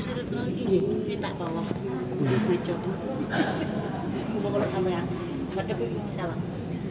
Nggih, minta tolong. Meja. Kumpul kalau sampean. Madhep iki salah.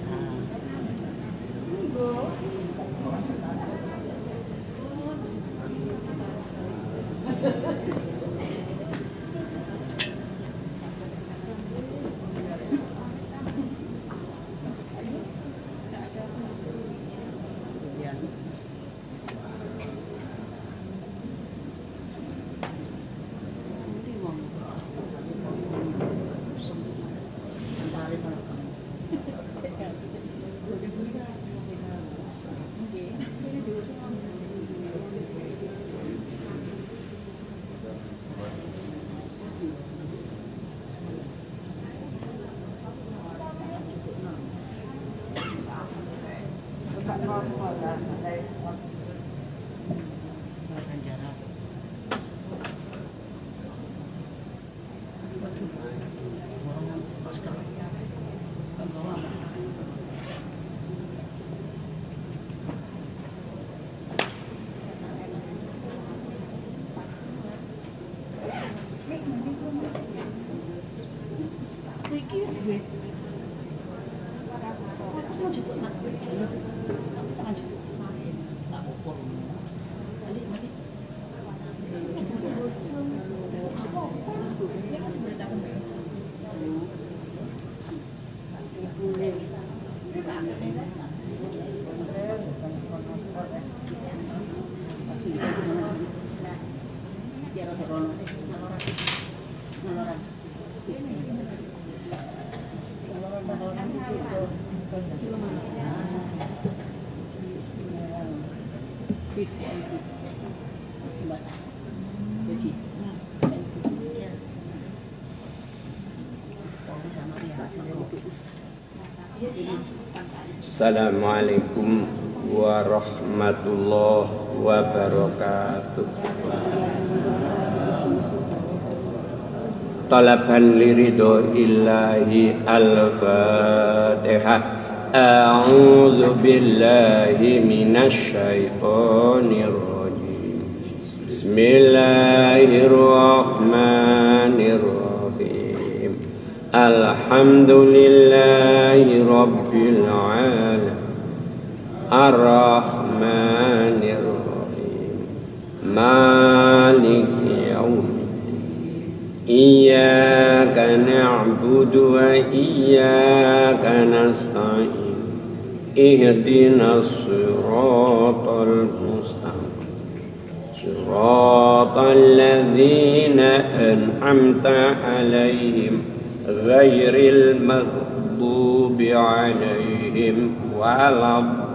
Assalamualaikum warahmatullahi wabarakatuh. Talaban liridho illahi al-fatihah. A'udzu billahi minasy syaithanir rajim. Bismillahirrahmanirrahim. Alhamdulillahi rabbil alamin. Ar-Rahmanir Rahim. Maliki yaumiddin. Iyyaka na'budu wa iyyaka nasta'in. Ihdinas siratal mustaqim. Siratal ladzina an'amta 'alaihim ghairil maghdubi 'alaihim waladdallin.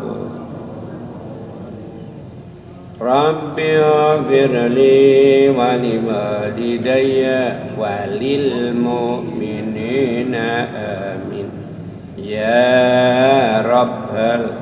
Rabbi ghfirli wa liwalidayya wa lil mu'minina amin. Ya Rabbal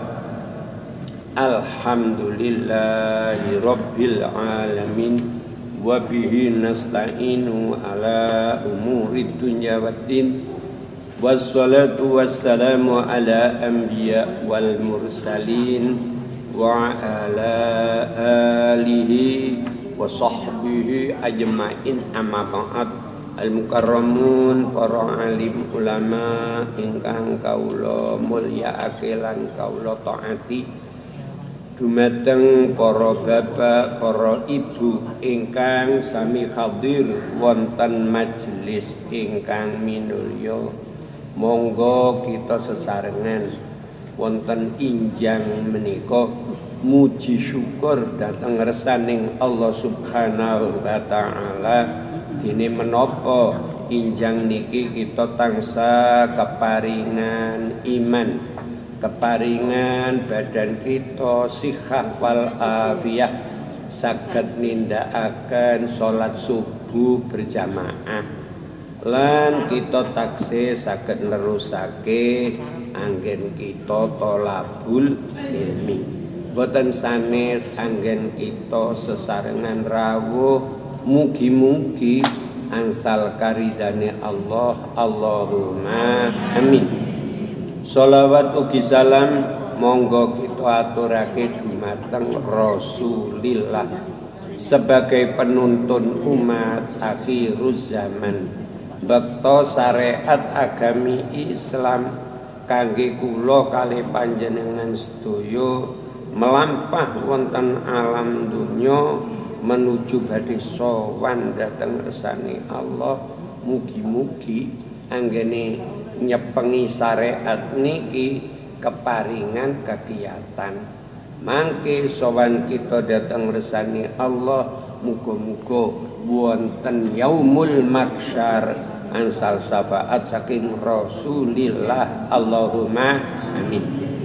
alhamdulillahi rabbil alamin. Wa bihi nasta'inu ala umuri dunya waddin. Wassalatu wassalamu ala anbiya wal mursalin wa ala alihi wa sahbihi ajma'in, amma ba'd. Al-mukarramun, para alim ulama ingkang kawula mulyakake lan kawula taati, dumateng para bapak, para ibu ingkang sami hadir wonten majelis ingkang minulya, monggo kita sesarengan wonten injang menika muji syukur dhateng ngersaning Allah Subhanahu wa taala. Dene menapa injang niki kita tansah keparingan iman, keparingan badan kita sihah wal afiyah, saged nindakaken salat subuh berjamaah, lan kita taksih saged nerusake anggen kita tolabul ilmi. Boten sanes anggen kita sesarengan rawuh, mugi-mugi ansal karidane Allah. Allahumma amin. Sholawat ugi salam monggo kita aturake dumateng Rasulillah sebagai penuntun umat akhiruz zaman bekto syariat agami Islam kangge kula kalih panjenengan sedaya melampah wonten alam dunya menuju badhe sowan dhateng ngersane Allah. Mugi-mugi anggene nyepengi syariat niki keparingan kegiatan mangke sowan kita dhateng ngersane Allah. Muga-muga wonten yaumul mahsyar ansal syafaat saking Rasulillah. Allahumma amin.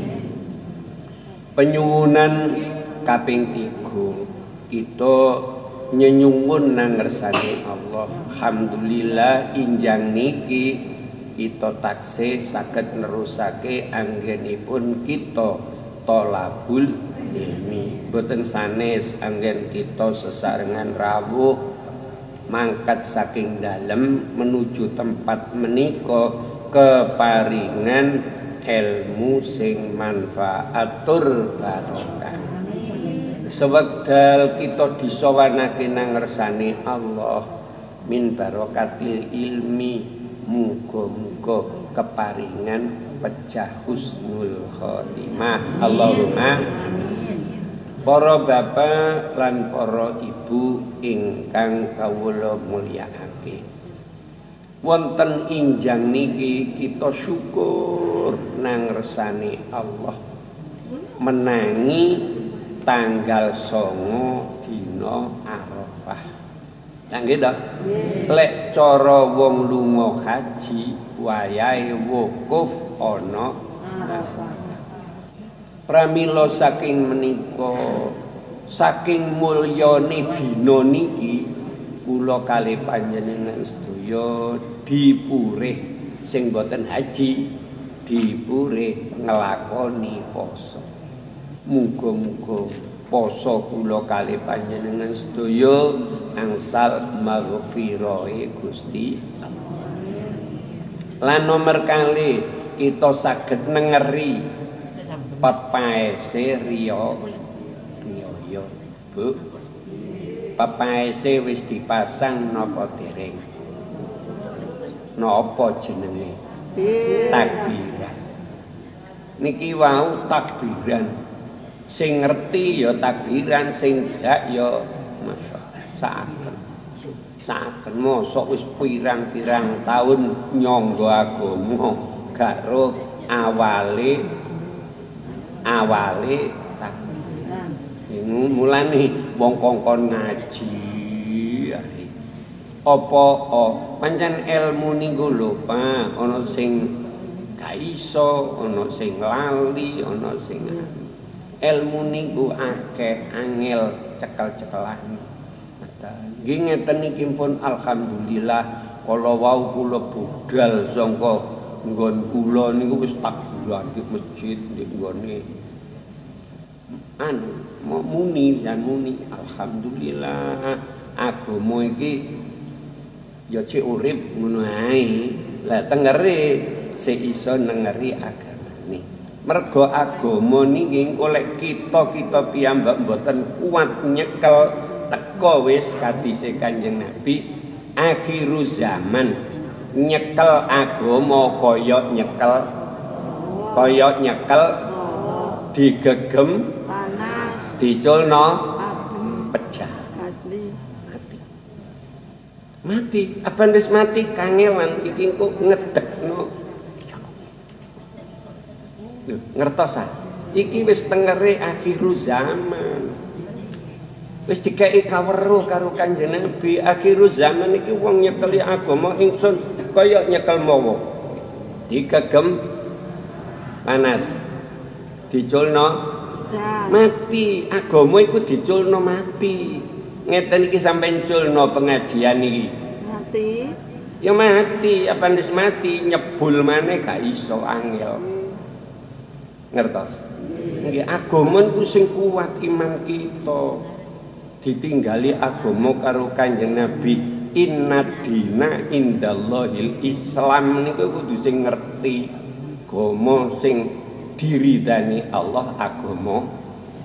Penyuwunan kaping 3 kita nyenyuwun nang ngersane Allah. Alhamdulillah injang niki kita taksih saged nerusake anggenipun kita tolabul ilmi. Boten sanes anggen kita sesarengan rawuh mangkat saking dalem menuju tempat menika keparingan ilmu sing manfaatur barokah. Sewekdal kita disowanake nang ngersane Allah min barokatil ilmi, muga-muga keparingan pecah husnul khotimah. Allahumma para bapak lan para ibu ingkang kawula mulyakake, wonten injang niki kita syukur nang ngersane Allah menangi tanggal 9 dina Arafah. Nggih to? Lek cara wong lunga haji wayahe wukuf ana Arafah. Pramila saking menika saking mulyane dina niki kula kalih panjenengan sedaya dipurih sing boten haji dipurih nglakoni poso. Muga-muga poso kula kalih panjenengan sedaya angsal maghfirahe Gusti. Lan nomor kalih kita saged nengeri pepaese riya. Bu, pepaese wis dipasang napa dereng? Napa jenenge? Takbiran. Niki wau takbiran. Sing ngerti ya takbiran, sing gak ya masyaallah saken mosok wis pirang-pirang taun nyangga agama gak ro awale takbiran. Mulane wong kongkon ngaji apa pancen ilmu niku lho Pak, ana sing gak iso, ana sing lali, ana sing ilmu niku akeh angel cekel-cekelan. Nggih ngeten niki pun alhamdulillah kala wau kula budal sangka nggon kula niku wis takbiran di masjid ndek nggone muni alhamdulillah agama iki ya cek urip ngono ae. Lah tengere sik iso nengeri agama. Mergo agama niki oleh kita piyambak mboten kuat nyekel teko wis kadise Kanjeng Nabi akhiru zaman nyekel agama kaya nyekel digegem panas diculno pecah mati apa wis mati kangelan iki kok ngedekno. Ngertosan iki wis tengere akhiru zaman wis dikei kaweruh karo Kanjeng Nabi. Akhiru zaman iki wong nyekeli agama ingsun kaya nyekel mawa digegem panas diculno mati. Agama iku diculno mati. Ngeten iki sampeyan culno pengajian iki mati ya mati apa wis mati nyebul maneh gak iso angel. Ngertos? Nggih agama niku sing kuat iman kita. Ditinggali agama karo Kanjeng Nabi, inna dina indallahil Islam niku kudu sing ngerti agama sing diridani Allah agama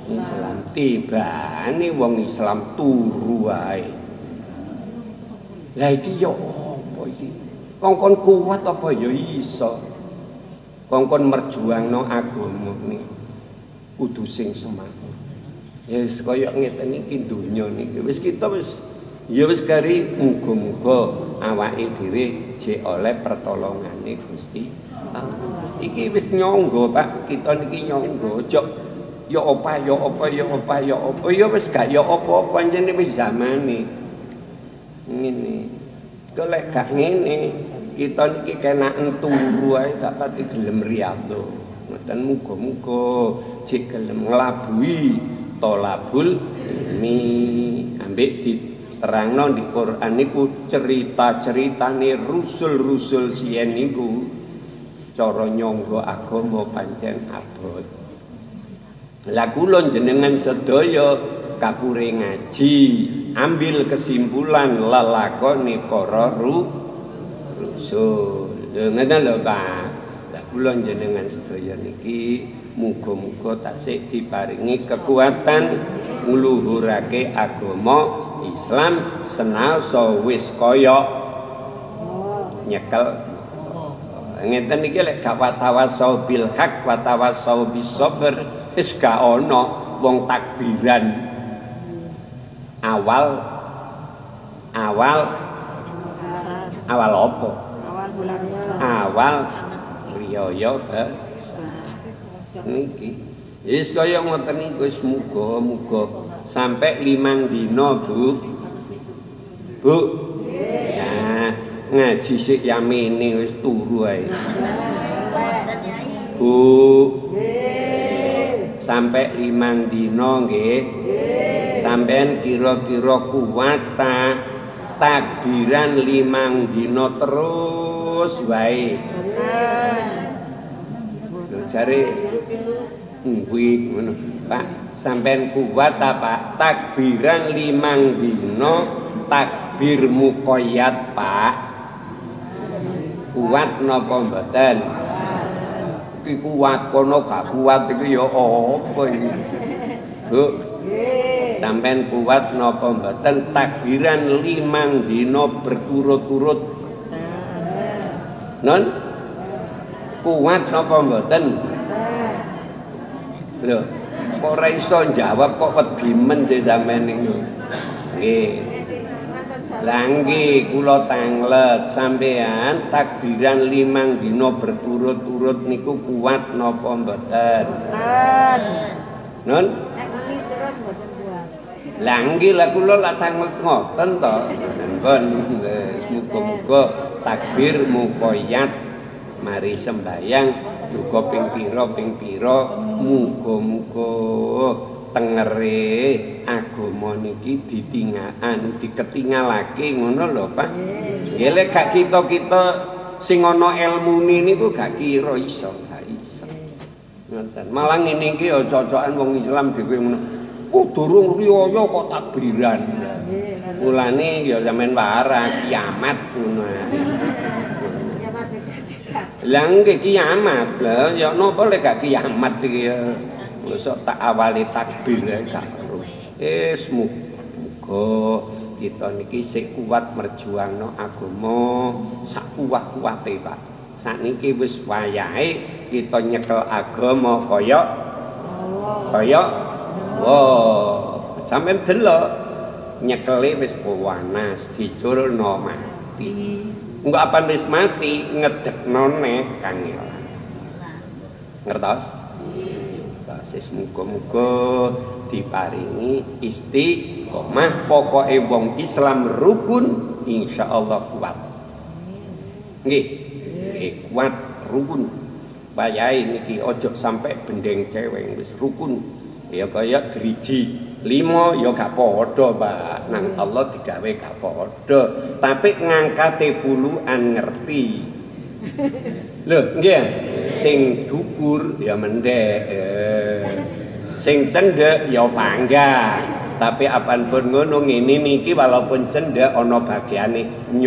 Islam tibane wong Islam turu wae. Lah iki yo apa iki? Kongkon kuat apa ya iso? Kongkon merjuangno agama niki kudu sing semangat. Ya wis kaya ngeten iki donya niki. Wis kita wis ya wis kari muga-muga awake dhewe jek oleh pertolongane Gusti Allah. Iki wis nyangga Pak, kita niki nyangga ojo ya apa ya wis gak ya apa-apa pancen wis zamane. Ngene. Golek gak ngene, kita niki kenaken turu ae gak pati gelem riyadhah. Ngoten muga-muga jek gelem nglabuhi tolabul ilmi ambek diterangno di Quran niku cerita-ceritane rusul-rusul siyen niku cara nyangga agama pancen abot. Lah kula jenengan sedaya kapure ngaji, ambil kesimpulan lelakone para rusul. Ngoten lho Pak. Lah kula jenengan sedaya niki muga-muga tasih diparingi kekuatan ngluhurake agama Islam senaosa wis kaya nyekel. Ngeten iki lek gak watawasau bil haq watawasau bis sabr wis gak ana wong takbiran awal apa? Awal riyaya niki. Wis kaya ngoten niku wis muga-muga sampai 5 dina, Bu. Bu. Ya, ngaji sik yamene wis turu ae. Bu. Sampai 5 dina nggih. Sampeyan kira-kira kuat ta takbiran 5 dina terus wae. Jare kuwi ngono Pak, sampean kuat ta Pak takbiran 5 dina takbir muqayyad Pak? Kuat napa mboten? Iki kuat kono gak kuat iki ya apa iki? Bu. Sampean kuat napa mboten takbiran 5 dina berturut-turut? Non? Kuat napa mboten? Lho, kok ora iso jawab kok wedi men sampean niku. Nggih. Lah nggih kula tanglet sampean takbiran 5 dina berturut-turut niku kuat napa mboten? Non? Nek muni terus mboten kuat. Lah nggih lah kula lak tanglet ngoten to. Pun muga-muga takbir muqayyad mari sembayang duka ping pira muga-muga tengere agama niki diketingalake ngono lho Pak. Nggih lek gak kita sing ana elmune niku gak kira iso, gak iso. Ngoten. Malah ngene iki ya cocokan wong Islam dhewe ngono. Durung riyaya kok takbiran. Mulane ya sampean warah kiamat ngono. Lah nggih kiamat lho, ya napa lek gak kiamat iki ya. Mosok tak awali takbir gak perlu. Muga kita niki sik kuat merjuangno agama sak kuat-kuate Pak. Sakniki wis wayahe kita nyekel agama kaya sampeyan delok nyekele wis panas dicurno mati. Engko apa wis mati ngedekno neh kangelan. Ngertos? Sis muga-muga diparingi istiqomah pokoke wong Islam rukun insyaallah kuat. Nggih. Kuat rukun. Wayahe niki ojo sampai bendeng cewek wis rukun. Ya kaya driji 5 ya gak padha, Pak. Nang Allah digawe gak padha. Tapi ngangkate puluhan ngerti. Lho, nggih. Sing dhuwur ya mendhek. Sing cendhek ya panggah. Tapi apanpun ngono ngene niki walaupun cendhek ana bagiane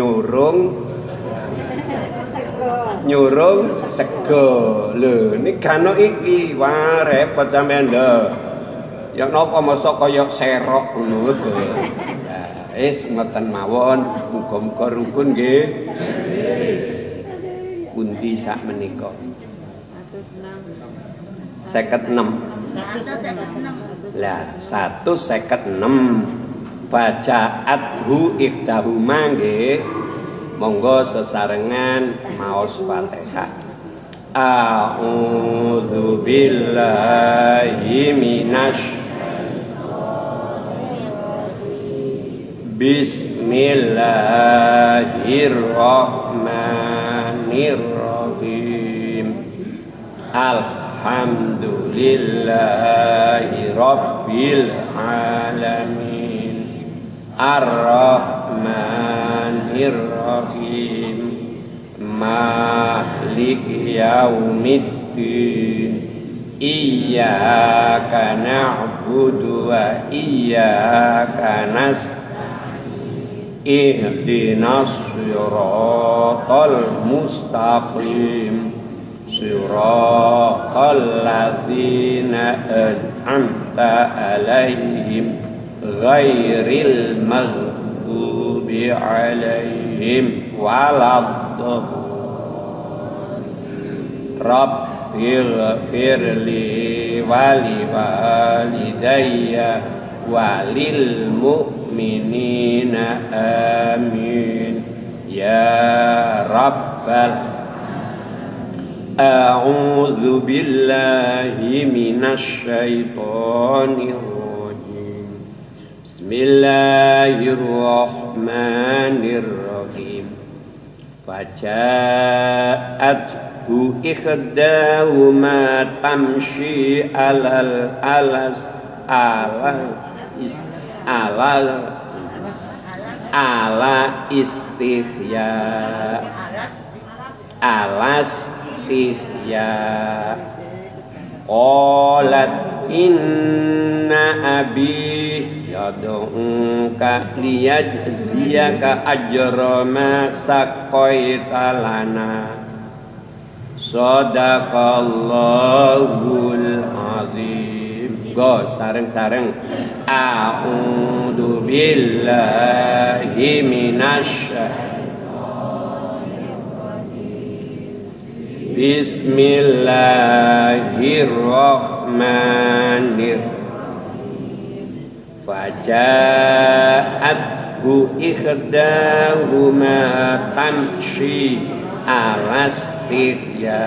nyurung sego. Lho, nek kano iki wah repot sampean lho. Ya napa mosok kaya serok ngono lho. Ya wis ngoten mawon, muga-muga rukun nggih. Pundi sak menika? 56. Lah 156. Faja'athu ihdahuma nggih. Monggo sesarengan maos Fatihah. A'udzu billahi minasy Bismillahirrahmanirrahim. Alhamdulillahi rabbil alamin. Ar-Rahmanir-Rahim. Maliki yaumiddin. Iyyaka na'budu wa iyyaka nasta'in. Ihdinas siratal mustaqim. Siratal ladzina an'amta 'alaihim ghairil maghdubi 'alaihim waladdallin. Rabbighfirli wali walidayya walil mu'minina amin ya rabbal. A'udzu billahi minasy syaithanir rajim. Bismillahirrahmanirrahim. Faja'athu ikhdahuma tamshi alal alas ala istihya alas istihya. Qalat inna abi yad'uka liyajziyaka ajra ma saqaita lana. Shadaqallahul azim. Go sareng-sareng. A'udzu billahi minasy Bismillahirrahmanirrahim. Faja'athu ikhdahuma tamshi alastihya.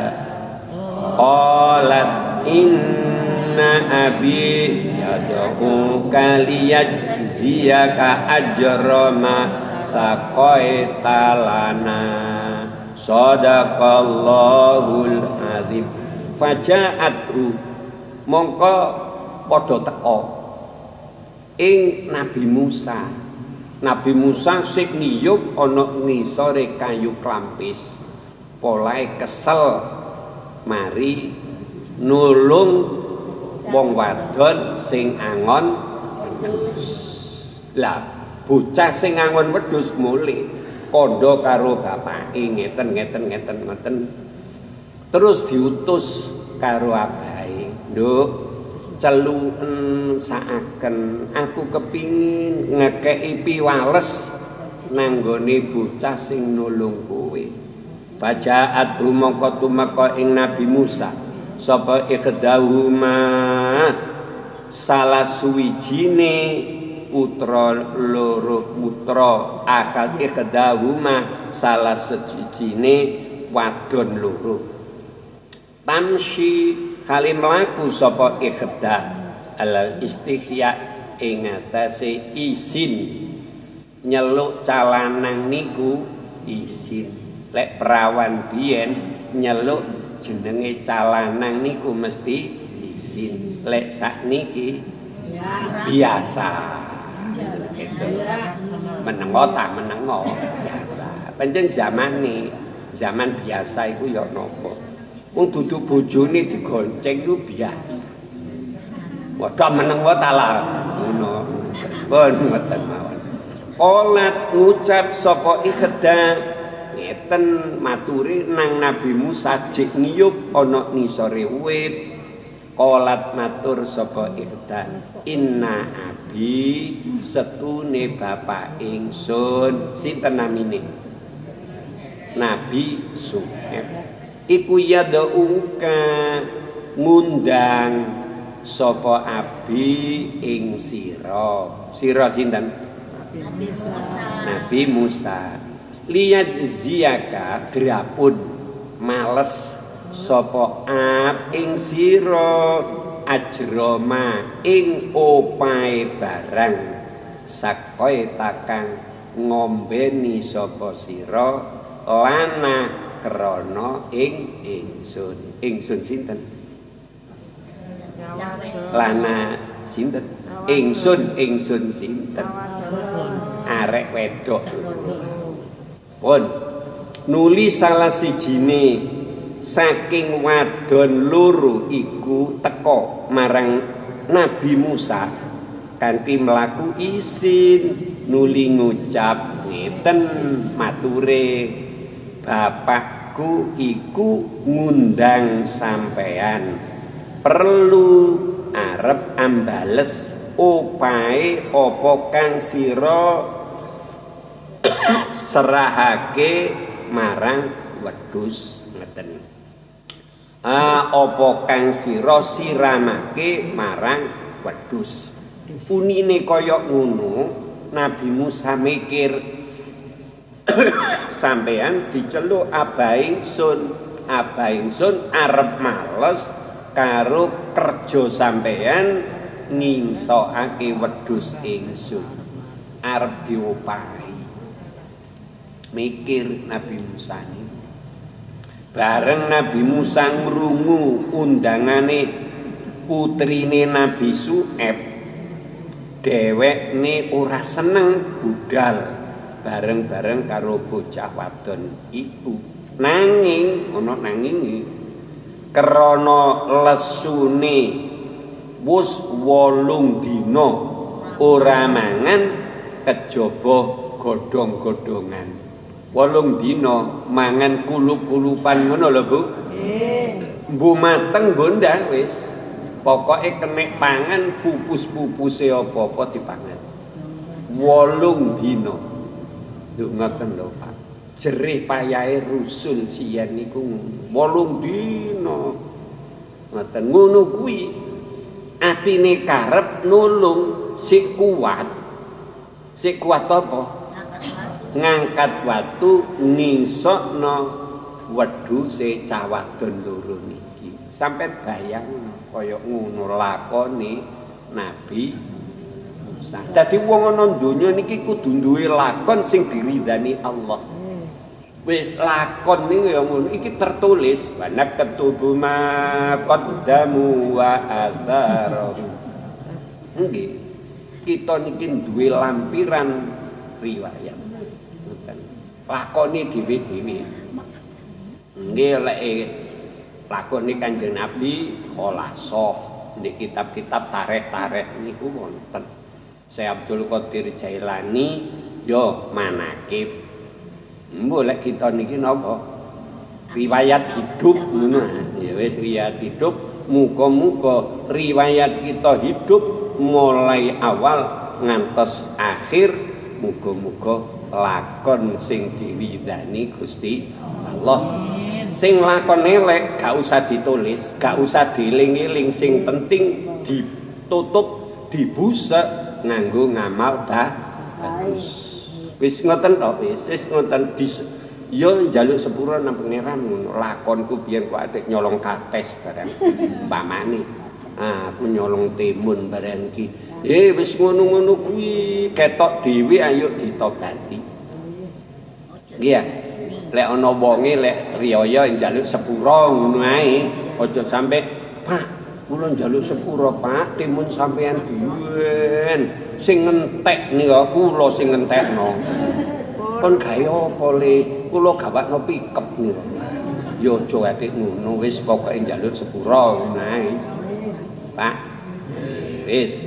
Qalat inna abi yad'uka liyajziyaka ajra ma saqaita lana. Shadaqallahul azim. Faja'athu mongko padha teka ing Nabi Musa. Nabi Musa sing niyup ana ngisore kayu klampis. Polahe kesel mari nulung wong wadon sing angon wedhus. Lah bocah sing angon wedhus mulih kondo karo bapake ngeten. Terus diutus karo abahe, "Nduk, celuken saaken aku kepingin ngekeki piwales nanggone bocah sing nulung kowe." Faja'at mongko tumeka ing Nabi Musa sapa ikhdahuma salah suwijine putra loro putra akad ikhdahuma salah sejine wadon loro. Tamshi kali mlaku sapa ikhdah alal istihya ing atase izin nyeluk calanang niku izin. Lek perawan biyen nyeluk jenenge calanang niku mesti izin. Lek sakniki biasa. Menengo tak menengo biasa. Pancen zaman biasa iku ya napa. Wong dudu bojone digonceng iku biasa. Wadah menengo ta lah ngono. Pun ngoten mawon. Qolat ngucap sapa ikhdah ngeten maturi nang Nabi Musa jek ngiyup ana nisore wit Qolat matur sapa Irdan, inna abi setune bapak ingsun. Sinten namine? Nabi Su'aib. Iku yad'uka ngundang sapa abi ing sira. Sira sinten? Nabi Musa. Liyad ziyaka grapun males sapa ab ing sira ajroma ing opae barang sakoe takang ngombeni sapa sira lana krana ing ingsun. Ingsun sinten? Lana sinten? Ingsun sinten? Arek wedok. Pun nuli salah sijine saking wadon loro iku teka marang Nabi Musa kanthi mlaku isin nuli ngucap ngeten mature, bapakku iku ngundang sampean perlu arep ambales opae apa kang sira serahake marang wedhus ngeten. Apa kang sira siramake marang wedhus. Unine kaya ngono, Nabi Musa mikir sampean diceluk abah ingsun arep males karo kerja sampean ngingsokake wedhus ingsun arep diopahi. Mikir Nabi Musa ini. Bareng Nabi Musa ngrungu undangane putrine Nabi Su'aib, dhewekne ora seneng budal bareng-bareng karo bocah wadon iku. Nanging ana nanging krana lesune wis 8 dina ora mangan kejaba godhong-godhongan. 8 dina mangan kulup-kulupan ngono lho Bu. Nggih. Mbu mateng gondang wis. Pokoke kenek pangan pupus-pupuse apa-apa dipangan. 8 dina. Lho ngoten lho Pak. Jerih payahe rusul siyen niku 8 dina. Ngoten ngono kuwi atine karep nulung sik kuat. Sik kuat apa? Ngangkat watu ngingsokno wedhuse cah wadon loro niki. Sampai bayang kaya ngono lakone Nabi Musa. Dadi wong ana donya niki kudu duwe lakon sing diridani Allah. Wis lakon niku ya ngono iki tertulis banak ketubu ma qaddamu wa atharu. Nggih. Kita niki duwe lampiran riwayat. Lakoni dhewe-dhewe. Nggih lek lakoni Kanjeng Nabi Khulasoh di kitab-kitab tarikh-tarikh niku wonten. Syekh Abdul Qadir Jailani yo manakib. Mbok lek kita niki napa? Riwayat hidup ngono. Ya wis riwayat hidup, muga-muga riwayat kita hidup mulai awal ngantos akhir muga-muga lakon sing diridani Gusti Allah. Sing lakon elek gak usah ditulis, gak usah dieling-eling, sing penting ditutup, dibusek nganggo ngamal bagus. Wis ngoten to, wis ngoten yo njaluk sepura nang pangeran ngono. Lakonku biyen kok atik nyolong kates barang umpamane. Aku nyolong timun barang iki. Wis ngono-ngono kuwi ketok dhewe ayo ditobati. Nggih. Lek ana wonge lek riyaya njaluk sepura ngono ae. Aja sampe, Pak, kula njaluk sepura, Pak, timun sampean diwen. Sing ngentek nika kula sing ngentekno. Kon gawe apa Le? Kula gawakno pikep nika. Ya aja atik ngono, wis pokoke njaluk sepura ngono ae. Pak. Wis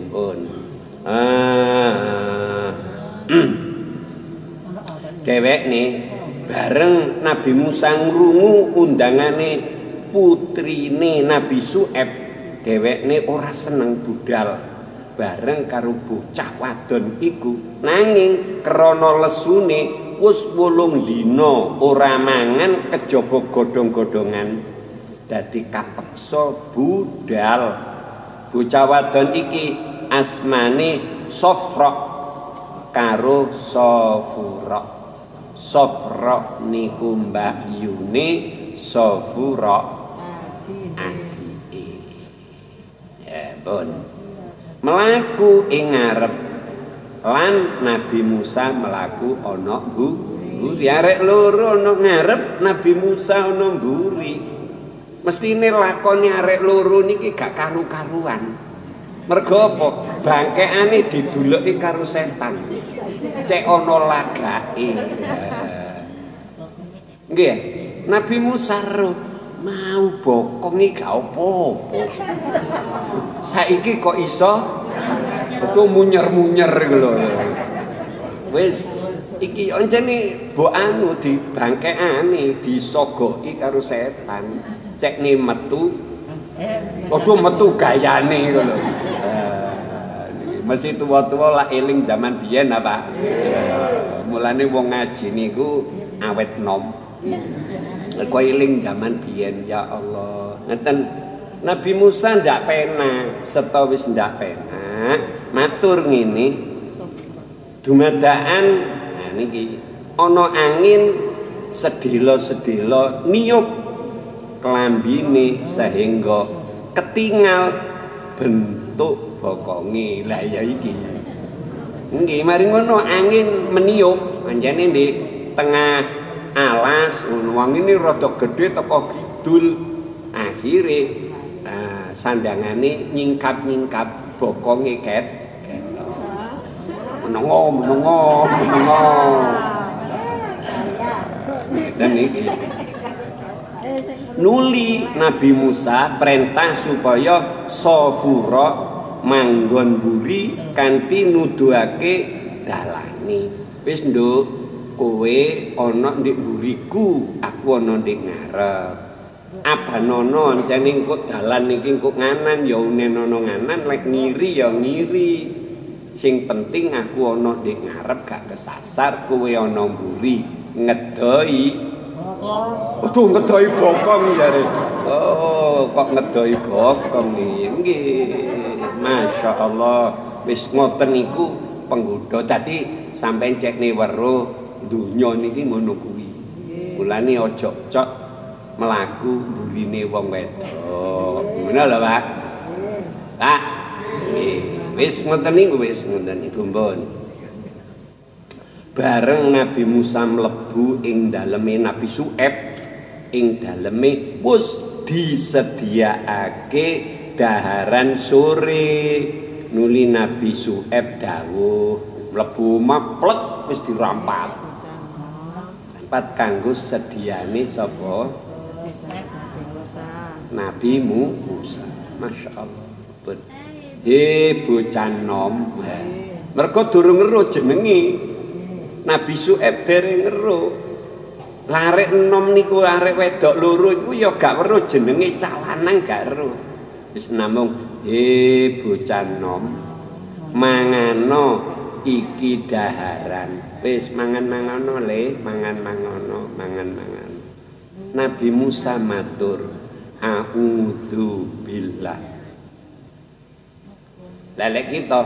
Dewek nih bareng Nabi Musa ngrungu undangane putrine Nabi Su'aib dhewekne ora seneng budal bareng karo bocah wadon iku, nanging krana lesune wis 8 dina ora mangan kejaba godhong-godhongan dadi kapeksa budal. Bocah wadon iki asmane Sofra karo Sofura. Sofra niku mbakyune Sofura adike. Ya pun melaku ing ngarep lan Nabi Musa melaku ana mburi. Arek loro ana ngarep, Nabi Musa ana mburi. Mestine lakone arek loro niki gak karu-karuan. Mergo apa? Bangkekane diduluki karo setan. Cek ana lagake. Nggih, Nabi Musa mau bokongi gak apa-apa. Saiki kok iso itu munyer-munyer lho. Wis iki oncene mbok anu dibangkekane disogoki karo setan. Cekne metu. Padha metu gayane ngono. Mesti tuwa-tuwa lah eling zaman biyen apa. Mulane wong ngaji niku awet nom. Kok eling zaman biyen ya Allah. Ngeten Nabi Musa ndak penak, serta wis ndak penak, matur ngene. Dumadaan nah niki ana angin sedela-sedela niup klambine sehingga ketinggal bentuk bokonge. Lah ya iki. Nggih, mari ngono angin meniup anjane ndek tengah alas wong ini rada gedhe teko kidul. Akhire sandangane nyingkap-nyingkap bokonge ket. Menengo. Dan iki nuli Nabi Musa perintah supaya Sofura manggon buri kanthi nuduhake dalane. Wis nduk, kowe ana ndek buriku, aku ana ndek ngarep. Abanono jane engko dalan iki engko nganan ya unenono nganan, lek ngiri ya ngiri. Sing penting aku ana ndek ngarep gak kesasar, kowe ana mburi ngedoi. Aduh ngedoi bokong jare. Oh, kok ngedoi bokong iki. Nggih. Masya Allah. Wis ngoten niku penggodha. Dadi sampeyan cekne weruh donya niki ngono kuwi. Mulane aja cok melaku burine wong wedok. Ngono lho, Pak. Pak. Nggih. Wis ngoten niku wis ngoten niku mbon. Bareng Nabi Musa mlebu ing daleme Nabi Syuaib, ing daleme wis disediakake daharan sore. Nuli Nabi Syuaib dawuh mlebu maplek wis dirampat. Rampat kanggo sediane sapa? Nabi Musa. Masya Allah. Bocah nom. Mergo durung ngeruh jenenge. Nabi Syuaib dereng ngeruh. Larek enom niku arek wedok loro iku ya gak weruh jenenge cah lanang gak weruh. Wis namung bocah nom. Mangano iki daharan. Wis mangan-mangano le, mangan-mangano, mangan-mangan. Nabi Musa matur, a'udzu billah. Lelek kita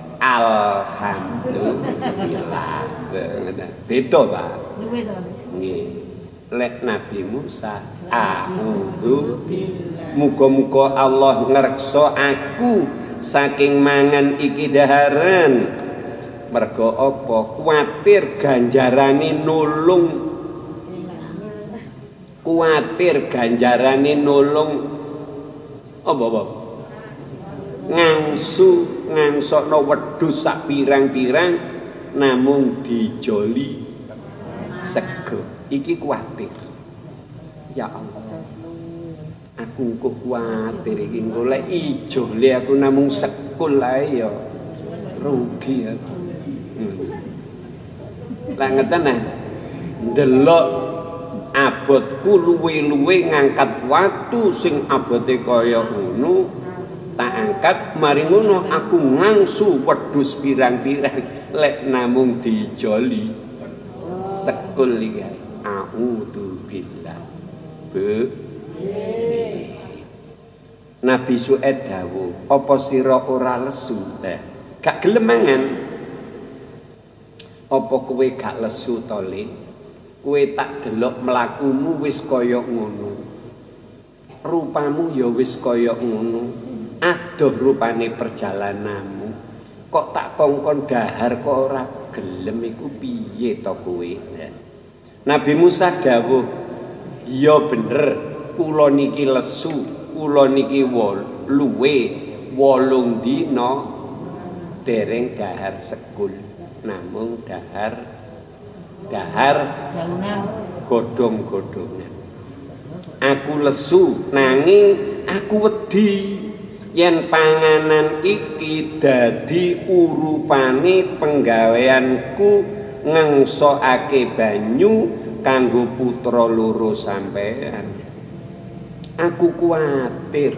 alhamdulillah. Beda, Pak. Nggih. Lek Nabi Musa a'udzu billah. Muga-muga Allah ngreksa aku saking mangan iki daharan. Mergo apa? Kuwatir ganjarane nulung. Kuwatir ganjarane nulung apa? Ngangsokno wedhus sak pirang-pirang namung dijoli sego. Iki kuwatir. Ya Allah. Aku kok kuwatir iki golek ijole aku namung sekul ae ya rugi aku. Lah ngeten nah. Ndelok abotku luwe-luwe ngangkat watu sing abote kaya ngono tak angkat mari ngono aku ngangsu wedhus pirang-pirang lek namung dijoli sekul iki a'udzu billah be Nabi Su'aib dawuh apa sira ora lesu gak gelem mangan apa kowe gak lesu to Le kowe tak delok mlakumu wis kaya ngono rupamu ya wis kaya ngono adoh rupane perjalananmu kok tak kongkon dahar kok ora gelem iku piye to kowe Nabi Musa dawuh ya bener kula niki lesu kula niki luwe 8 dina dereng dahar sekul namung dahar godhong-godhongan aku lesu nanging aku wedi yen panganan iki dadi urupane penggaweanku ngengsokake banyu kanggo putra loro sampean aku kuwatir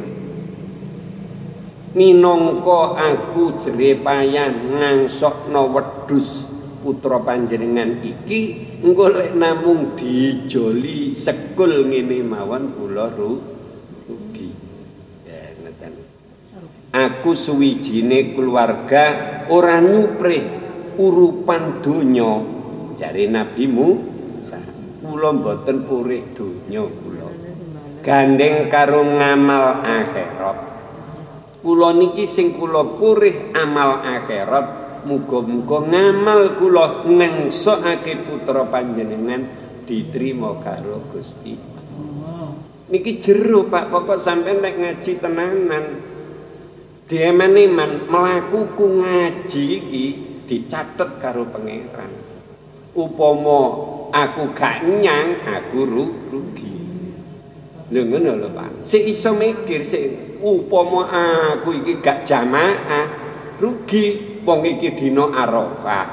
minangka aku jerepayan ngangsokno wedhus putra panjenengan iki engko lek namung dijoli sekul ngene mawon kula rugi ya ngeten aku suwijine keluarga ora nyuprih urupan donya jare Nabi Musa kula mboten purih donya kula gandeng karo ngamal akhirat kula niki sing kula purih amal akhirat muga-muga ngamal kula nengsokake putra panjenengan diterima karo Gusti niki jero Pak pokok sampean nek ngaji tenanan dieman-eman mlakuku ngaji iki dicatet karo pangeran upama aku gak nyang aku rugi lho ngono lho Pak sik iso mikir sik upama aku iki gak jamaah rugi wong iki dina Arafah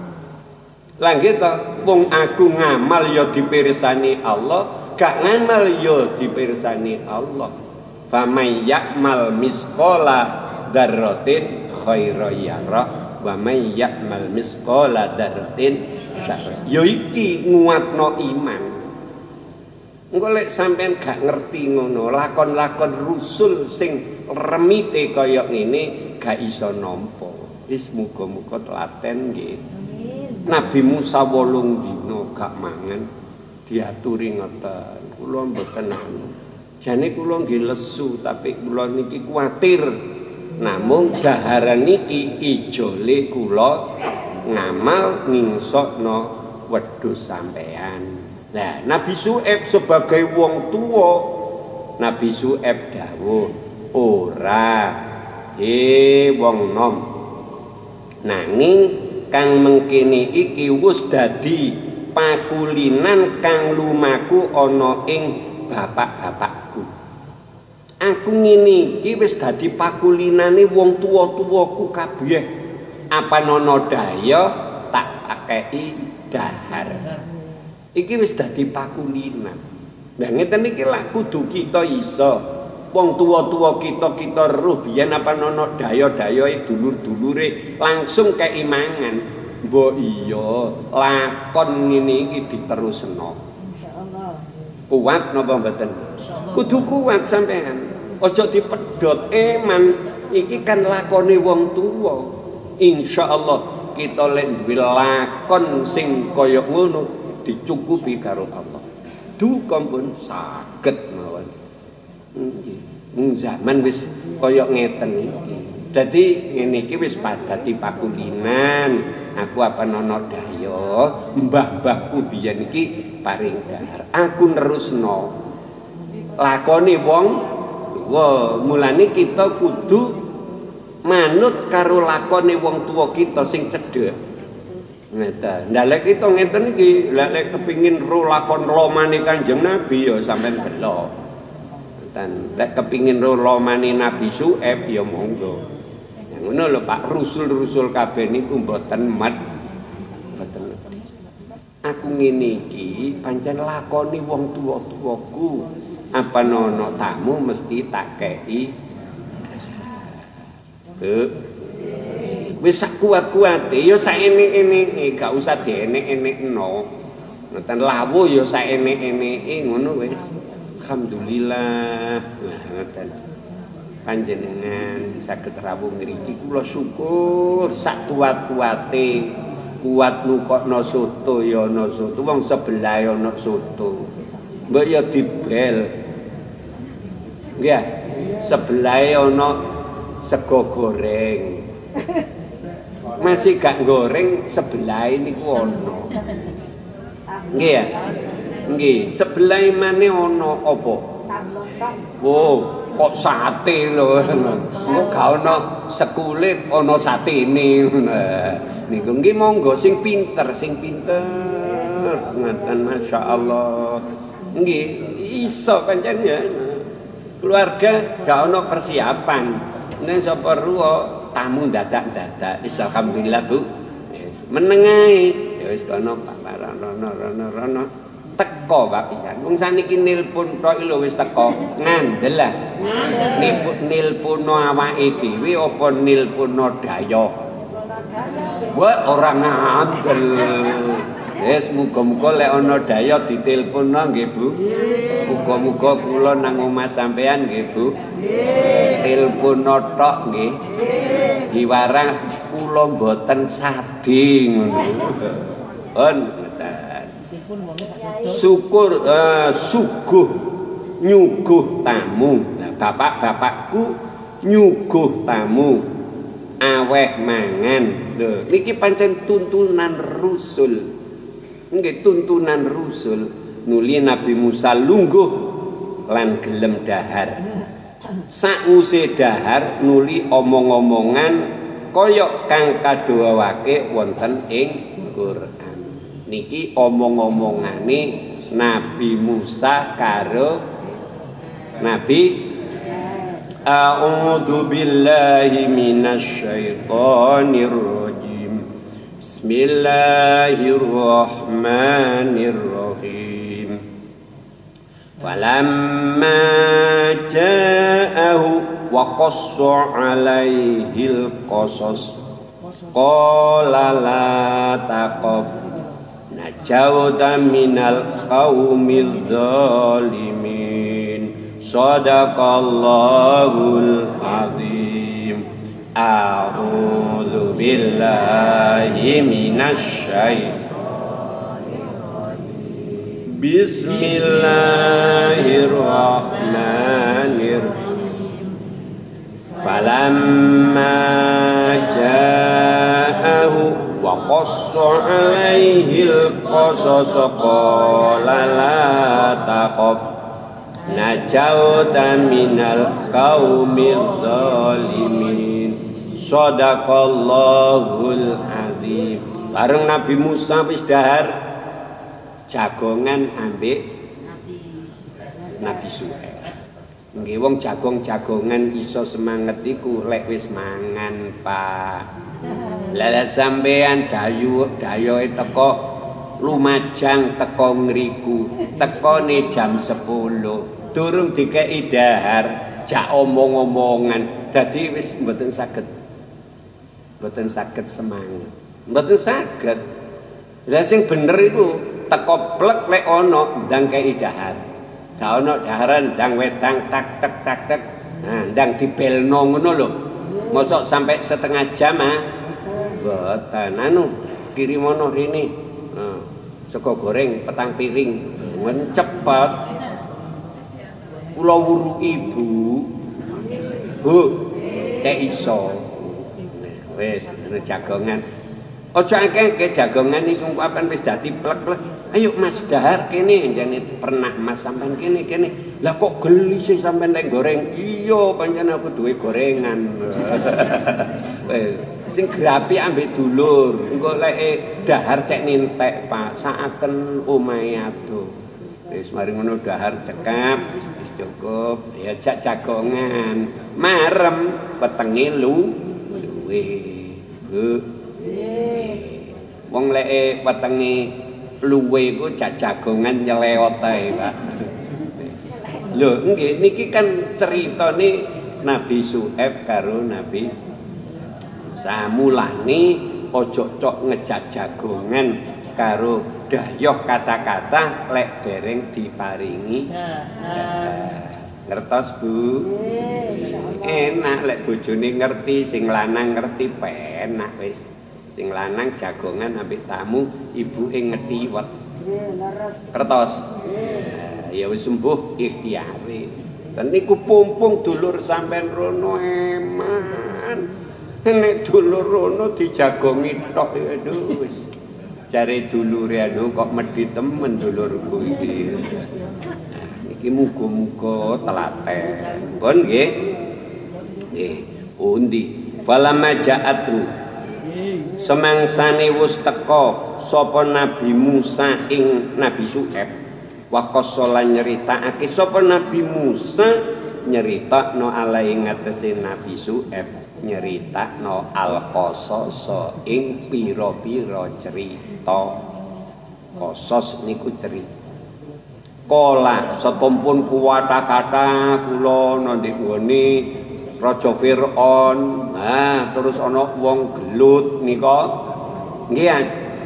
lah nggih to wong aku ngamal ya dipirsani Allah gak ngamal ya dipirsani Allah famay ya'mal misqala dzarratin khairan yara wa may ya'mal misqala dzarratin syarran ya iki nguatno iman engko lek sampean gak ngerti ngono lakon-lakon rusul sing remite kaya ngene gak iso nampa wis muga-muga telaten nggih Nabi Musa 8 dina gak mangan diaturi ngoten kula mboten anu jane kula nggih lesu tapi kula niki kuwatir namung daharan niki ijole kula ngamal ngingsokno wedhus sampean nah Nabi Su'aib sebagai wong tua Nabi Su'aib dawuh ora wong nom nanging kang mengkene iki wis dadi pakulinan kang lumaku ana ing bapak-bapakku aku ngene iki wis dadi pakulinane wong tuwa-tuwaku kabeh apa nono daya tak akei dahar iki wis dadi pakulinan nah ngeten iki lak kudu kita iso wong tua-tua kita roh biyen apa nono daya-dayae dulur-dulure langsung keimangan mbok iya lakon ngene iki diterusno insyaallah kuat napa mboten kudu kuat sampean aja dipedhot eman iki kan lakone wong tua insyaallah kita lek duwe lakon sing kaya ngono dicukupi karo Allah duka pun saged mawon zaman wis kaya ngeten iki. Dadi ngene iki wis padati pakulinan. Aku apa nono daya, mbah-mbahku biyen iki paring dahar. Aku nerusno. Lakone wong mulane kita kudu manut karo lakone wong tua kita sing cedhek. Ngeten. Lah lek kita ngeten iki, lek kepengin ro lakon lomane Kanjeng Nabi ya sampean delok. Lek kepingin lomane Nabi Su'aib ya monggo. Ngono lho Pak, rusul-rusul kabeh niku mboten mboten. Aku ngene iki pancen lakoni wong tuwa-tuwaku. Apa nono tamu mesti tak kei. Wis sak kuat-kuate ya sak enek-eneke, gak usah dienek-enekno. Ngoten lawuh ya sak enek-eneke ngono wis. Alhamdulillah. Nah, ngoten. Panjenengan saged rawuh ngriki kula syukur sak kuat-kuate. Kuat nukokno soto ya ana soto, wong sebelah ya ana soto. Mbok ya dibel. Nggih. Sebelah ana sego goreng. Masih gak goreng sebelah niku ana. Nggih ya. Nggih, sebelah maneh ana apa? Oh, kok sate lho. Kok gak ana sekulit, ana satene. Niku nggih monggo sing pinter. Ngoten masyaallah. Nggih, iso pancen ya. Keluarga gak ana persiapan. Nek sapa ruwa tamu dadak-dadak. Wis alhamdulillah Bu. Wis meneng ae. Ya wis kono Pak rono. Teko Pak pisan. Wong saniki nilpun tok lho wis teko. Ngandel lah. Nilpuno awake dhewe apa nilpuno dayoh? Wah ora ngandel. Wis muga-muga lek ana daya diteleponna nggih Bu. Muga-muga kula nang omah sampean nggih Bu. Teleponna tok nggih. Diwarang kula mboten sadi ngono. Syukur suguh nyuguh tamu. Nah, bapak-bapakku nyuguh tamu. Aweh mangan. Lho, niki pancen tuntunan Rasul. Nggih tuntunan Rasul nuli Nabi Musa lungguh lan gelem dahar. Sakwise dahar nuli omong-omongan kaya kang kadhawuhake wonten ing Quran. Niki omong-omongane Nabi Musa karo Nabi A'udzu billahi minasy syaithanir rajim. Bismillahirrahmanirrahim. Falamma ja'ahu wa qassa 'alaihil qasas qala la taqaf najawta minal qaumil zalimin. Shadaqallahul azim. A'udzu billahi minasy syaithanir rajim. Bismillahirrahmanirrahim. Falamma ja'ahu wa qassa 'alaihil qasas qala la taqaf najauta minal qaumil zalimin. Shadaqallahul azim. Bareng Nabi Musa wis dahar jagongan ambek Nabi Suhaib. Nggih wong jagong-jagongan iso semangat iku lek wis mangan, Pak. Lah sampean dayoe teko lumajang teko ngriku, tekone jam 10. Durung dikeki dahar, jak omong-omongan. Dadi wis mboten saged semangat. Mboten saged. Lah sing bener iku teko plek lek ana ndang kei dahar. Gak ana daharan ndang wedang tak tek. Nah, ndang dibelno ngono lho. Mosok sampai setengah jam ah. Mboten anu kirimono rene. Nah, sego goreng petang piring. Men cepet. Kula wuruki Bu. Bu, cek iso. Wis jagongan. Aja akeh jagongan iki sungkapan wis dadi plek-plek. Ayo Mas dahar kene jane pernah Mas sampean kene. Lah kok geli sih sampean lek goreng? Iya pancen aku duwe gorengan. Sing grapi ambek dulur. Engko lek dahar cek nintek Pak, saaken omahe adoh. Wis mari ngono dahar cekap wis cukup ya jak jagongan. Marem wetenge luwe. Bu. Wong lek wetenge luwe iku jak jagongan nyelewot ae, Pak. Lho, nggih niki kan ceritane Nabi Suhaib karo Nabi Samulane ojo cok ngejak jagongan karo dayoh kata-kata lek dereng diparingi. Ngertos Bu? Enak lek bojone ngerti, sing lanang ngerti penak wis. Sing lanang jagongan ambek tamu, ibuke ngetiwet. Kertos. Ya wis sembuh ikhtiare. Dan niku pumpung dulur sampean rono eman. Nek dulur rono dijagongi tok aduh wis. Jare dulure anu kok medhi temen dulurku iki. Iki muga-muga telaten. Pun nggih. Nggih, undi. Falamma ja'atu. Semangsane wis teka sapa Nabi Musa ing Nabi Syuaib. Wa qasala nyeritakake sapa Nabi Musa nyeritakno alai ngatese Nabi Syuaib nyeritakno al-qasasa ing pira-pira cerita. Qasas niku cerita. Kala satumpun kuwata-kata kula nandhik nggone Raja Firaun. Nah, terus ana wong gelut nika. Nggih.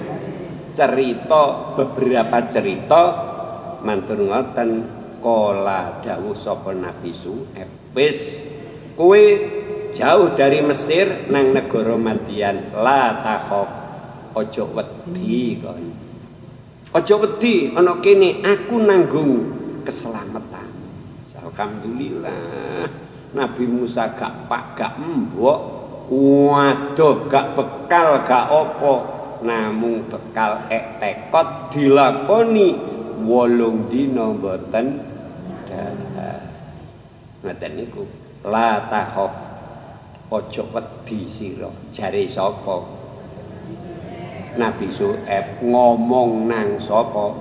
Cerita beberapa cerita mantur ngoten kala dawuh sapa Nabi Syuaib. Wis kowe jauh dari Mesir nang negara Madian la takhaf aja wedi kon. Aja wedi ana kene aku nanggung keselamatan. Alhamdulillah Nabi Musa gak pak gak mbok waduh gak bekal gak apa namung bekal tekad dilakoni 8 dina mboten dalah. Ngoten niku la takhaf aja wedi sira jare sapa Nabi Syuaib ngomong nang sapa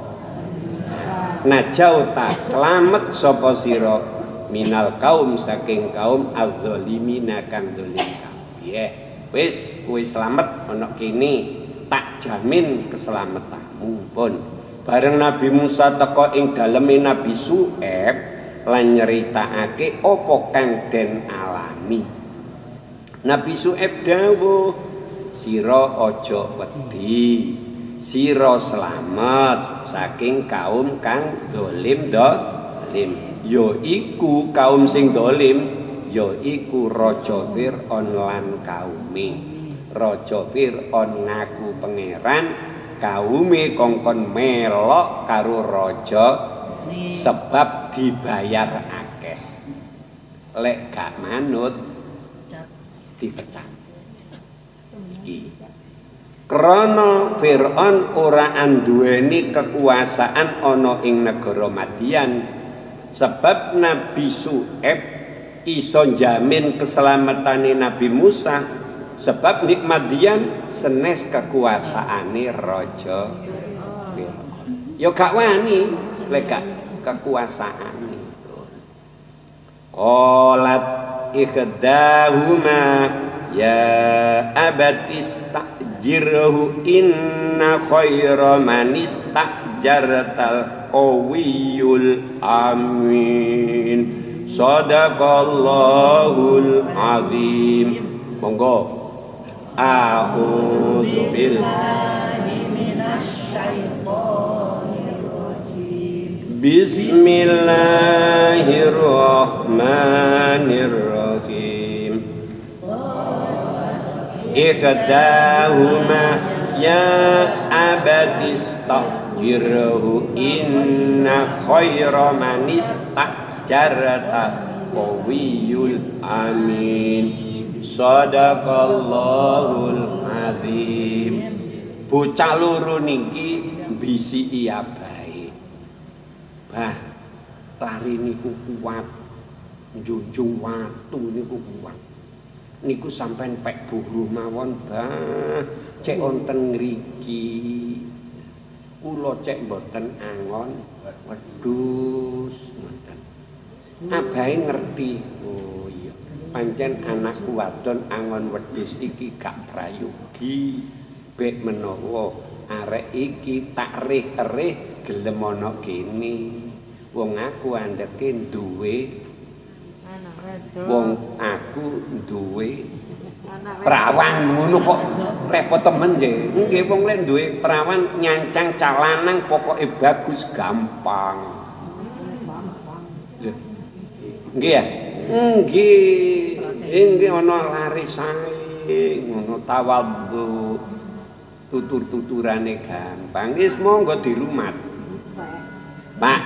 najau ta selamat sapa sira minal kaum saking kaum azzalimina kang zalim kabeh. Wis kowe slamet ana kene tak jamin keselamatanmu. Pun bareng Nabi Musa teka ing daleme Nabi Syuaib lan nyeritakake apa kang den alami. Nabi Syuaib dawuh sira aja wedi, sira slamet saking kaum kang zalim zalim. Ya iku kaum sing zalim, ya iku Raja Firaun lan kaume. Raja Firaun ngaku pangeran, kaume kongkon melok karo raja sebab dibayar akeh. Lek gak manut dipecat. Krana Firaun ora anduweni kekuasaan ana ing negara Madian, sebab Nabi Syuaib iso jamin keselamatane Nabi Musa, sebab ning Madian senes kekuasaane raja Firaun. Ya gak wani lek gak kekuasaane. Qalat ikhdahuma ya abati istajirhu inna khaira man istajartal qawiyul amin. Sadaqallahul azim. Monggo. A'udzu billahi minasyaitonir rajim. Bismillahirrahmanirrahim. Ikhdahuma ya abadi istajirhu inna khaira man istajarta qawiyul amin. Sadaqallahul azim. Bocah loro niki bisiki abahe. Bah, lari niku kuat. Njunjung watu niku kuat. Niku sampean pek buruh mawon, Bah. Cek wonten ngriki. Kula cek mboten angon wedhus ngoten. Abahe ngerti. Oh iya. Pancen anakku wadon angon wedhus iki gak prayogi. Bek menawa arek iki tak rih-rih gelem ana kene. Wong aku andeke duwe. Wong aku duwe Perawan ngono kok repot temen nggih. Nggih wong lek duwe perawan nyancang calanang pokoke bagus gampang. Lho. Nggih ya? Nggih. Nggih ana lari sae, ngono tawadhu. Tutur-tuturane gampang. Wis monggo dirumat. Pak.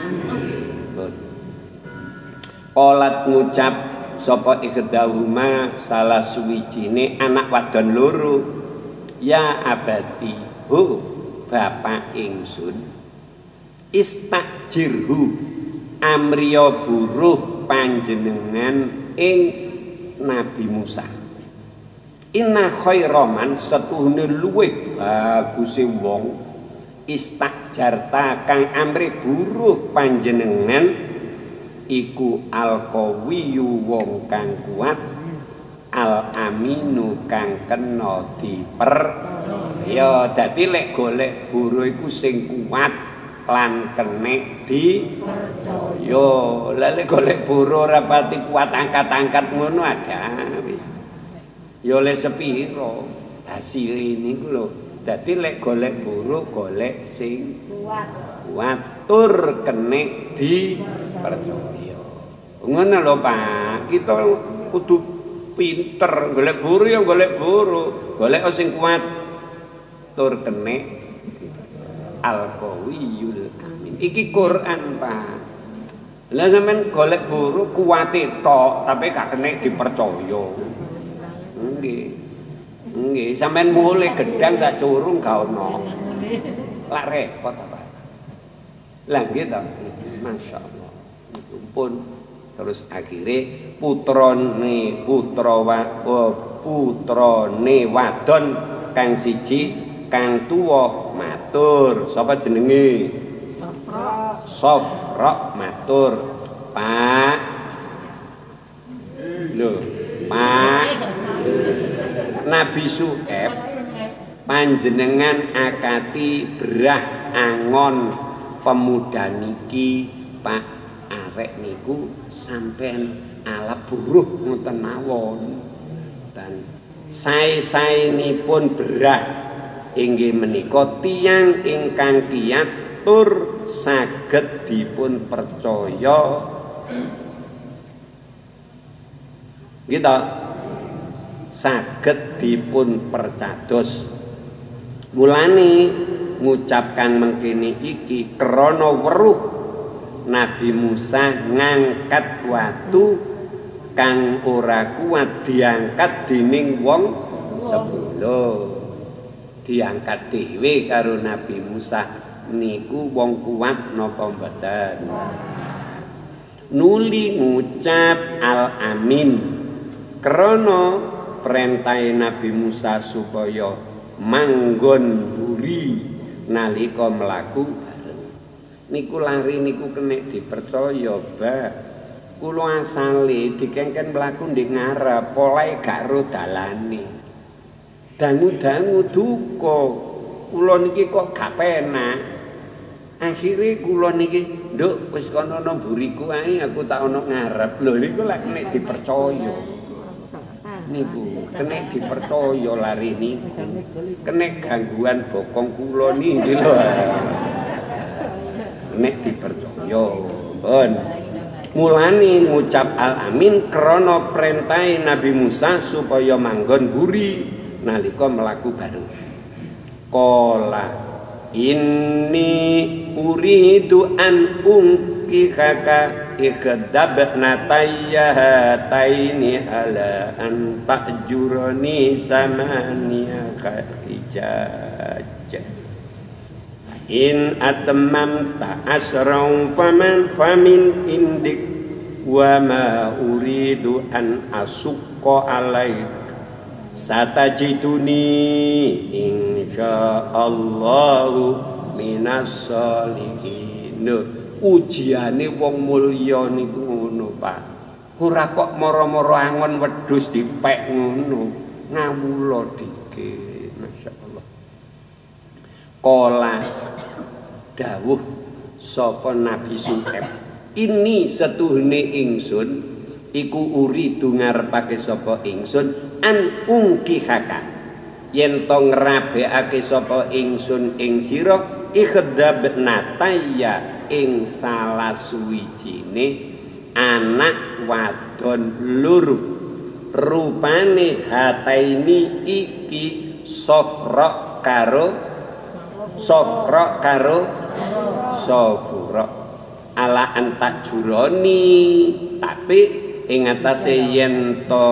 Olat ngucap sapa ikhdahuma salah suwijine anak wadon loro. Ya abadi, ho bapak ingsun. Istakjirhu amriya buruh panjenengan ing Nabi Musa. Inna khairaman setuhune luwih baguse wong istakjarta kang amri buruh panjenengan iku al-qawiyyu wong kang kuat al-aminu kang kena dipercaya. Dadi lek golek buruh iku sing kuat lan kenek dipercaya. Lah lek golek buruh ora pati kuat angkat-angkat ngono aga wis. Ya oleh sepiro hasil niku lho. Dadi lek golek buruh golek sing kuat tur kenek dipercaya. Ngono lho Pak, kita kudu pinter golek buruh ya golek buruh, golek sing kuat tur kenek al-qawiyul amin. Iki Quran Pak. Lah sampean golek buruh kuwate tok tapi gak kenek dipercaya. Nggih. Nggih, sampean mulih gedang sak curung gak ono. Lak repot apa. Lah nggih to. Masyaallah. Pun terus akhire putrane wadon kang siji kang tuwa matur. Sapa jenenge? Sofra matur. Pak. Lho, Pak. Nabi Syuaib panjenengan akati brah angon pemuda niki Pak arek niku sampean ala buruh ngoten mawon dan sae-saenipun brah inggih menika tiyang ingkang kiyat tur saged dipun percaya gitu saged dipun percados. Mulane ngucapkan mengkene iki krana weruh Nabi Musa ngangkat watu kang ora kuat diangkat dening wong sepuluh. Diangkat dhewe karo Nabi Musa niku wong kuat napa mboten. Nuli ngucap al-amin krana perintahe Nabi Musa supaya manggon buri nalika mlaku bareng. Niku lari niku kenek dipercaya, Mbak. Kula asale dikengken mlaku ndek ngarep, polahe gak ro dalane. Dangu-dangu duka. Kula niki kok gak penak. Akhire kula niki, "Nduk, wis kono ana buriku ae, aku tak ana ngarep." Lho niku lek kenek dipercaya. Niku kena dipercaya lari niku kena gangguan bokong kula niki lho kena dipercaya pun mulane ngucap al-amin krana perintahe Nabi Musa supaya manggon buri nalika mlaku bareng. Qala inni uridu an unkihaka ikhdabna tayyahataini ala an ta'jurani samaniya khijaj in atmamta asran famin indik wa ma uridu an asukka alaik satajiduni insyaallahu minas sholihin. Ujiane wong mulya niku ngono, Pak. Ora kok moro-moro angon wedhus dipek ngono. Ngawula dikit, masyaallah. Qala dawuh sapa Nabi Syuaib, ini setuhune ingsun iku uridu ngarepake sapa ingsun an ungkihaka yen to ngrabekake sapa ingsun ing sira ikhdabnataya ing salah suwijine anak wadon loro rupane hataini iki sofra karo sofura ala antak juroni tapi ing atase yen to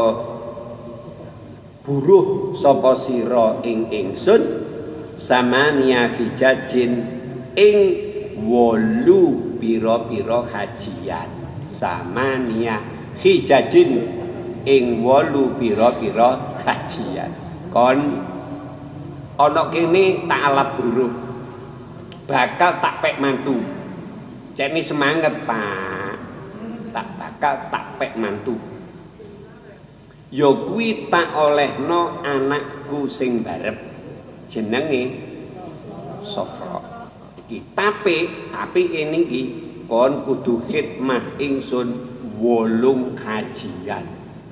buruh sapa sira ing ingsun samania hijajin ing 8 pira-pira hajian samania hijajin ing 8 pira-pira hajian kon ana kene tak alap buruh bakal tak pek mantu cekne semangat Pak tak bakal tak pek mantu ya kuwi tak olehno anakku sing barep jenenge Sofra iki tapi kene iki kon kudu khidmah ingsun 8 kajian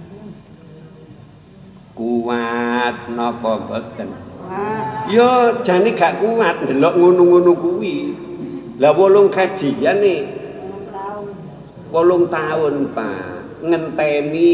kuat napa mboten ya jane gak kuat ndelok ngono-ngono kuwi lah 8 kajian nih 8 tahun Pak ngenteni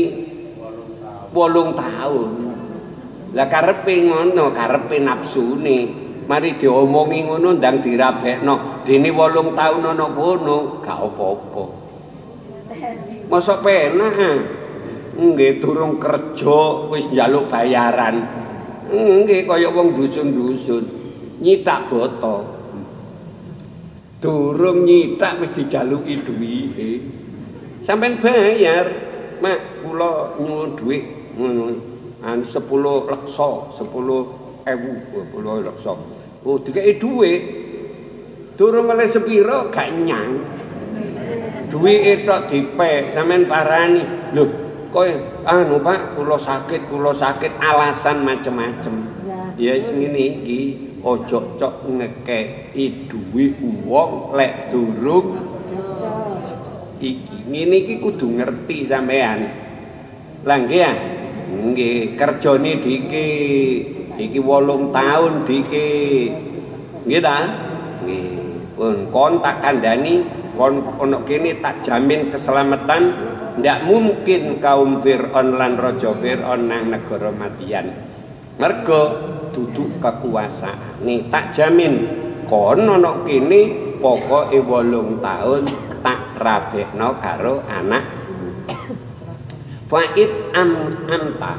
8 tahun lah karepe ngono karepe nafsune mari diomongi ngono ndang dirabekno dene 8 tahun ana kono gak apa-apa mosok penak nggih durung kerja wis njaluk bayaran nggih kaya wong dusun-dusun nyitak boto durung nyitak wis dijaluki duwike sampean bayar mak kula nyuwun dhuwit ngono 10 leksa 10.000 leksa oh dikeki dhuwit durung oleh sepira gak nyang duwike tok dipek sampean parani lho kowe anu Pak kula sakit alasan macem-macem ya wis ngene iki ojo cok ngekeki duwe wong lek durung iki ngene iki kudu ngerti sampean lah nggih ya nggih kerjane dike iki 8 tahun dike nggih ta nggih kon tak kandhani kon ono kene tak jamin keselamatan ndak mungkin kaum Fir'aun lan raja Fir'aun nang negara Madian mergo duduk kekuasaan nih tak jamin kon ana kene pokoke 8 tahun tak rabekno karo anak fa'id anta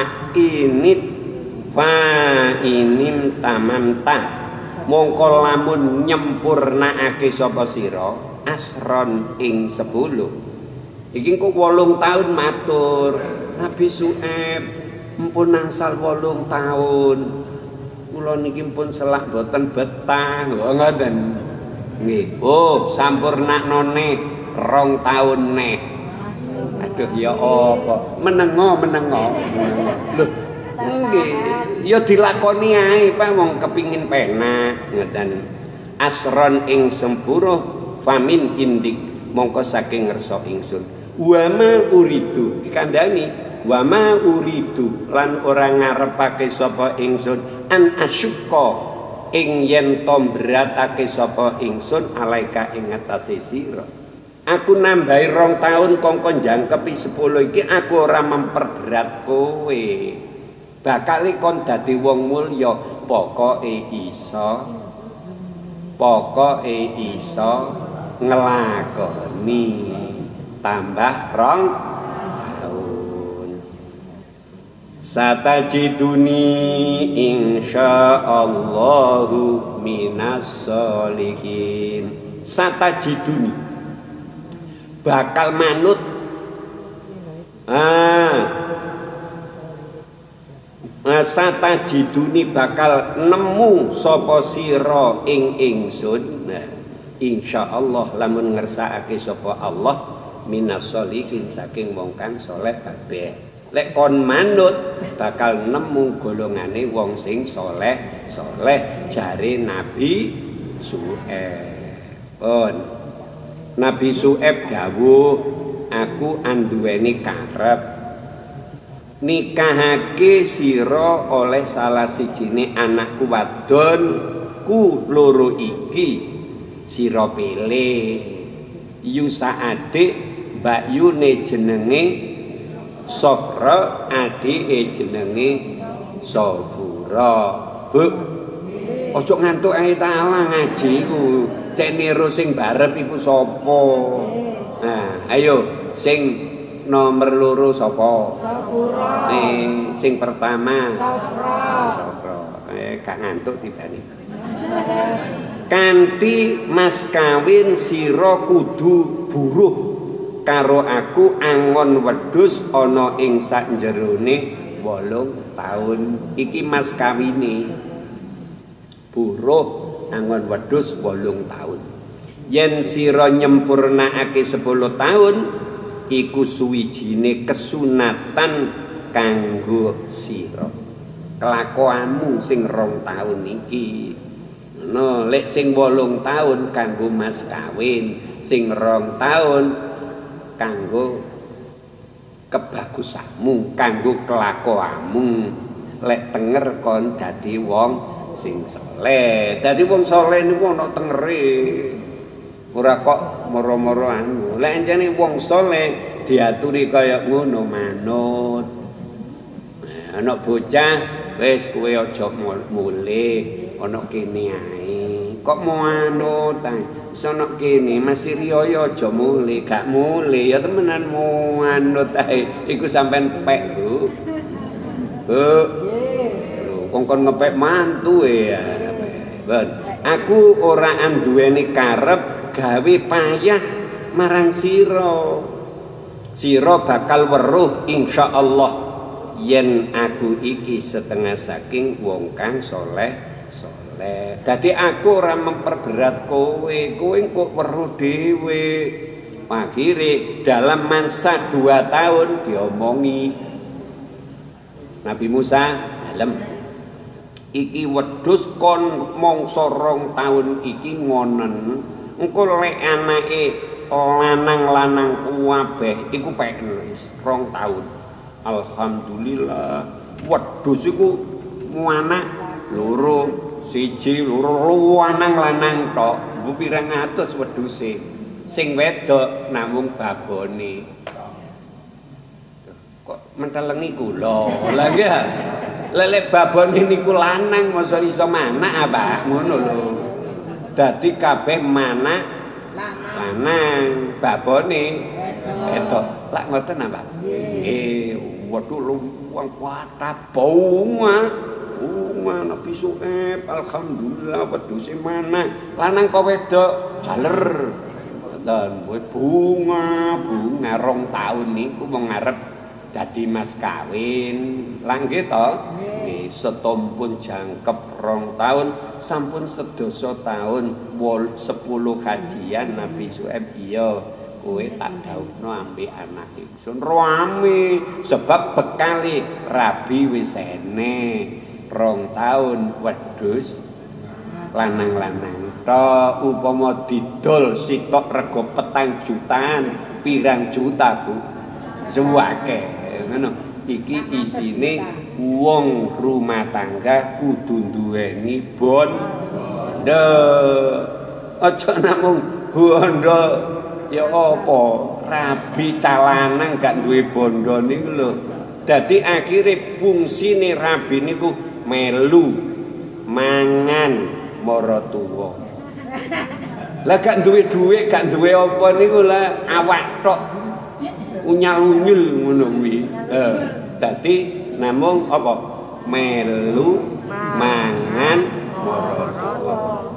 fa'inim tamamta mongko lamun nyempurnaake sapa sira asron ing 10 iki kok 8 tahun matur Nabi Su'aib mpun nangsal 8 tahun kula niki pun selak boten betah ngoten nggih oh sampurnakno neh 2 tahun neh aduh ya apa menengo lho nggih ya dilakoni ae Pak wong kepingin penak ngoten asron ing 10 famin indik mongko saking ngersa ingsun wama uridu dikandani wama uridu lan ora ngarepake sapa ingsun an asyqa ing yen to beratake sapa ingsun alaika ing atase sira aku nambahi 2 tahun kongkon jangkepi 10 iki aku ora memperberat kowe bakal kon dadi wong mulya pokoke iso ngelakoni tambah 2 tahun satajiduni insyaallahu minas solihin satajiduni bakal manut satajiduni bakal nemu sapa sira ing ingsun insyaallah lamun ngersakake sapa Allah minas solihin saking wong kang saleh kabeh lek kon manut bakal nemu golongane wong sing saleh jare Nabi Su'aib Nabi Su'aib dawuh aku anduweni karep nikahake sira oleh salah sijine anakku wadon ku loro iki sira pilih Yusa adik mbakyune jenenge Sofra adike jenenge Sofura. Bu ojo ngantuk ae taala ngaji ku cek niru sing barep iku sapa. Nah ayo sing nomor loro sapa? Sofura. Sing pertama Sofra. Gak ngantuk tibane. Kanthi mas kawin sira kudu buruh karo aku angon wedhus ana ing sakjerone 8 taun. Iki mas kawine buruh angon wedhus 8 taun. Yen sira nyempurnakake 10 taun iku suwijine kesunatan kanggo sira. Kelakuanmu sing 2 taun iki. No, lek sing 8 taun kanggo mas kawin, sing 2 taun kanggo kebagusanmu, kanggo kelakuanmu. Lek tenger kon dadi wong sing saleh. Dadi wong saleh niku ana tengere. Ora kok moro-moro anu. Lek anjene wong saleh diaturi kaya ngono manut. Nah, ana bocah wis kowe aja mulih. Ana kene ae kok mau anut ae sono kene masih riyo aja mulih gak mulih ya temenan mau anut ae iku sampean pek lho kongkon ngepek mantu ya ben aku ora anduweni karep gawe payah marang sira bakal weruh insyaallah yen aku iki setengah saking wong kang saleh. Dadi aku ora memperberat kowe kok weruh dhewe. Akhire dalam masa 2 tahun diomongi Nabi Musa dalem iki wedhus kon mangsa 2 tahun iki ngonen engko lek anake lanang-lanang kuwabeh iku peken wis 2 tahun. Alhamdulillah wedhus iku anak loro siji loro lanang-lanang tok mbu pirang atus wedhuse sing wedok namung babone kok mentelengi kula lha ya lek babone niku lanang masa iso manak apa ngono lho dadi kabeh manak lanang babone wedok lak ngoten apa nggih waduh wong kuat bunga Nabi Su'aib alhamdulillah wedhuse mana lanang kok wedok jaler dan bunga 2 tahun niku wong ngarep dadi mas kawin langge to nggih setompun jangkep 2 tahun sampun 11 tahun 10 kajian Nabi Su'aib iya kowe tak dhawuhno ambek anake sun rame sebab bekali rabi wis eneh 2 tahun wedhus lanang-lanang tok upama didol sitok rego 4 jutaan pirang juta Bu suwake ngono iki isine wong rumah tangga kudu duweni bondo aja namung bondo ya apa rabi calanang gak duwe bondo niku lho dadi akhire fungsine rabi niku melu mangan mara tuwa. Lah gak duwe dhuwit, gak duwe apa niku lah awak tok unyal-unyul ngono kuwi. Dadi namung apa? Melu mangan mara tuwa.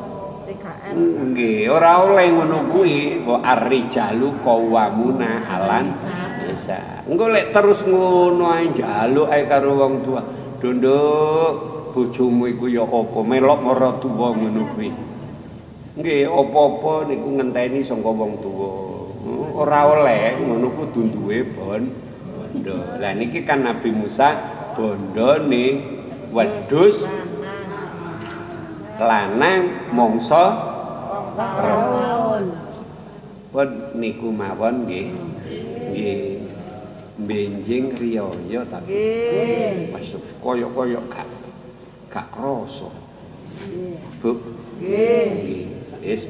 Nggih, ora oleh ngono kuwi, wa ar-rijalu qawwamuna 'alan nisa. Engko lek terus ngono ae njaluk ae karo wong tua. Nduk bojomu iku ya apa melok mara tuwa ngono kuwi. Nggih, apa-apa niku ngenteni saka wong tuwa. Ora oleh ngono kudu duwe bondo. Lah niki kan Nabi Musa bondone wedhus lanang mangsa pun niku mawon nggih. Nggih. Benjing riyaya tapi Nggih. masuk koyo-koyo gak krasa. Bu. Nggih. Nggih. Wis